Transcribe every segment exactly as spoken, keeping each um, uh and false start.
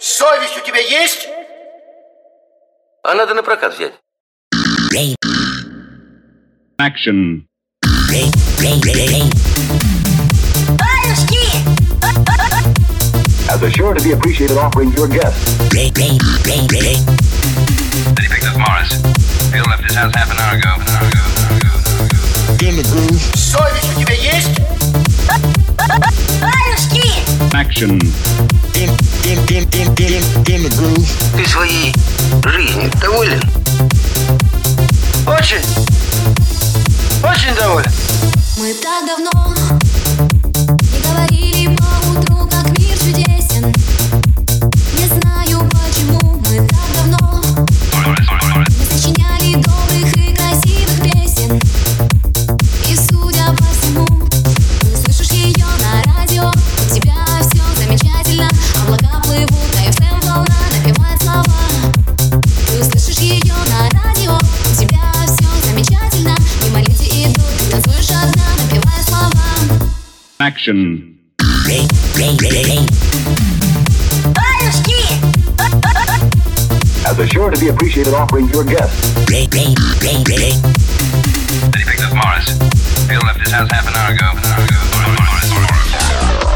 Совесть у тебя есть? А надо на прокат взять. Action. As a sure to be appreciated offering to your guests. Then he picked up Morris. Bill left his house half an hour ago. An hour ago. An hour ago. In the groove. Совесть у тебя есть? Action. In, in, in, in, in, in the groove. Ты своей жизнью доволен? Очень, очень доволен. Мы так давно не говорили по утру, как мир чудесен. Не знаю почему мы так давно не сочиняли добрых и красивых песен. И судя по всему, ты слышишь ее на радио. У тебя все замечательно, облака плывут, а эф эм волна напевает слова. Ты услышишь ее на радио, у тебя все замечательно, мимо люди идут, ты танцуешь одна, напевая слова. Action. As a sure to be appreciated offering to your guests. Then he picked up Morris. Bill left his house half an hour ago. An hour ago. Morris, Morris.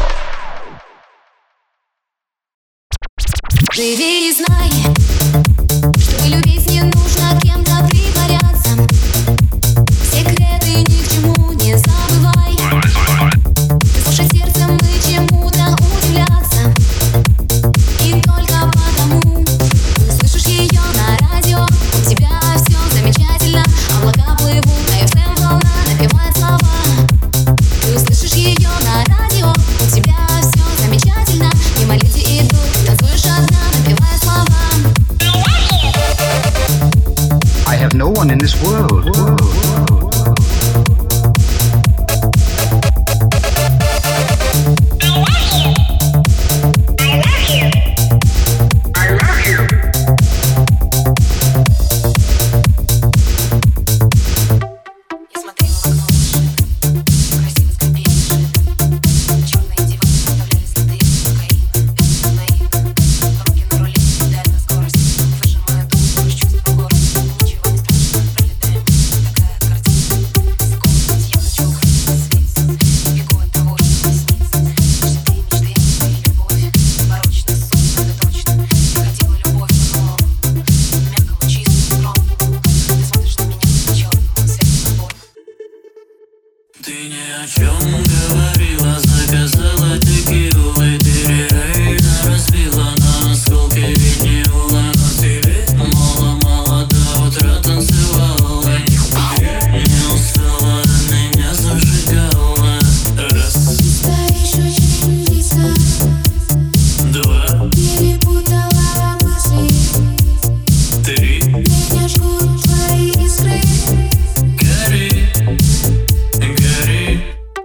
Живи и знай, чтобы любить не нужно кем-то притворяться. Секреты ни к чему не забывай. Слушай сердцем и чему-то удивляться. И только потому ты слышишь ее на радио. У тебя все замечательно, облака плывут, а эф эм волна напевает слова. Ты услышишь ее на радио, у тебя все замечательно, мимо люди идут, ты танцуешь одна, напевая слова. I have no one in this world. Ты ни о чем говорила, заказала текилу и перерейна разбила на осколки винила. Но ты ведь мало-мало до утра танцевала. Не устала, меня зажигала. Раз, Стоишь очень близко, два, перепутала мысли. три, Меня жгут твои искры. гори, гори.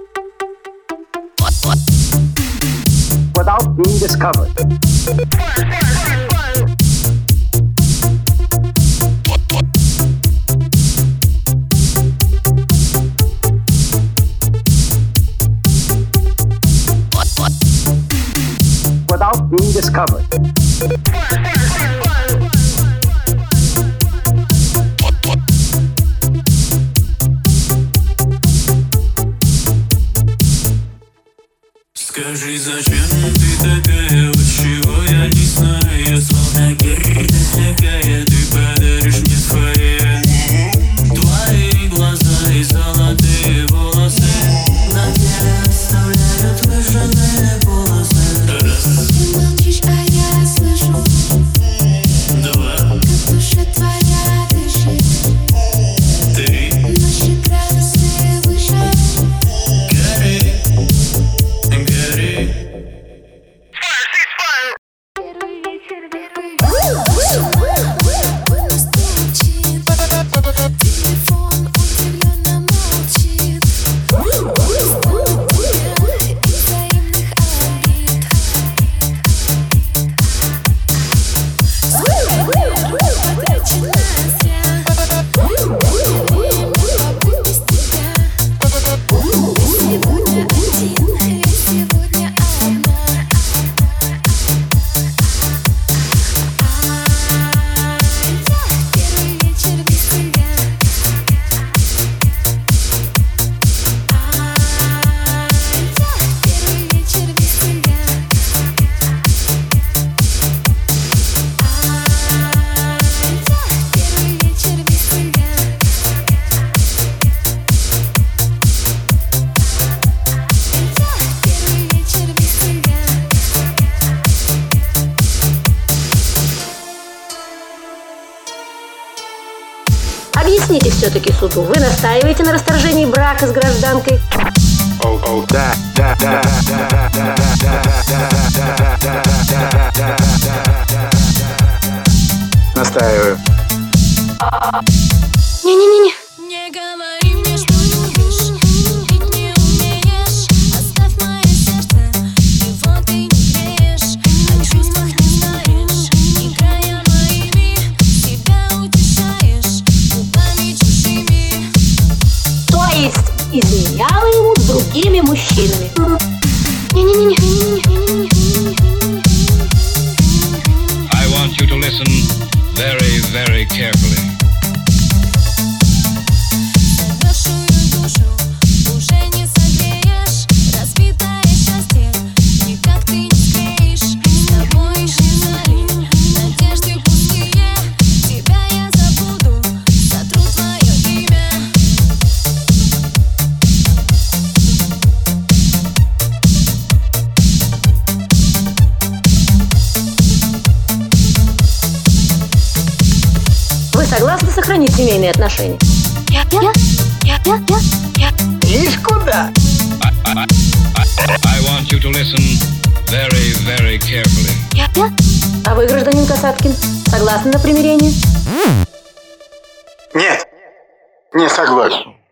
Without being discovered. Without being discovered. Скажи, зачем ты такая, от чего я не знаю. Я словно герда такая, ты подаришь мне свои. Твои глаза и золотые волосы на теле оставляют выжженные полосы. Раз, Ты молчишь, а я слышу. обращаетесь все-таки к суду? Вы настаиваете на расторжении брака с гражданкой? Да, да, да, да, да, настаиваю. Не-не-не-не. Не говори мне, что любишь, любить не умеешь. Оставь мое сердце, его ты не греешь. О чувствах не знаешь, играя моими, себя утешаешь губами чужими. То есть изменяла ему с другими мужчинами? Не-не-не-не. I want you to listen very, very carefully. Замерзшую душу уже не согреешь. Разбитое счастье никак ты не склеишь. С тобой исчезали надежды пустые. Тебя я забуду, сотру твое имя. Вы согласны сохранить семейные отношения? Я, я, я, я, я, я. Ишь куда? I want you to listen very, very carefully. А вы, гражданин Касаткин, согласны на примирение? Нет, не согласен.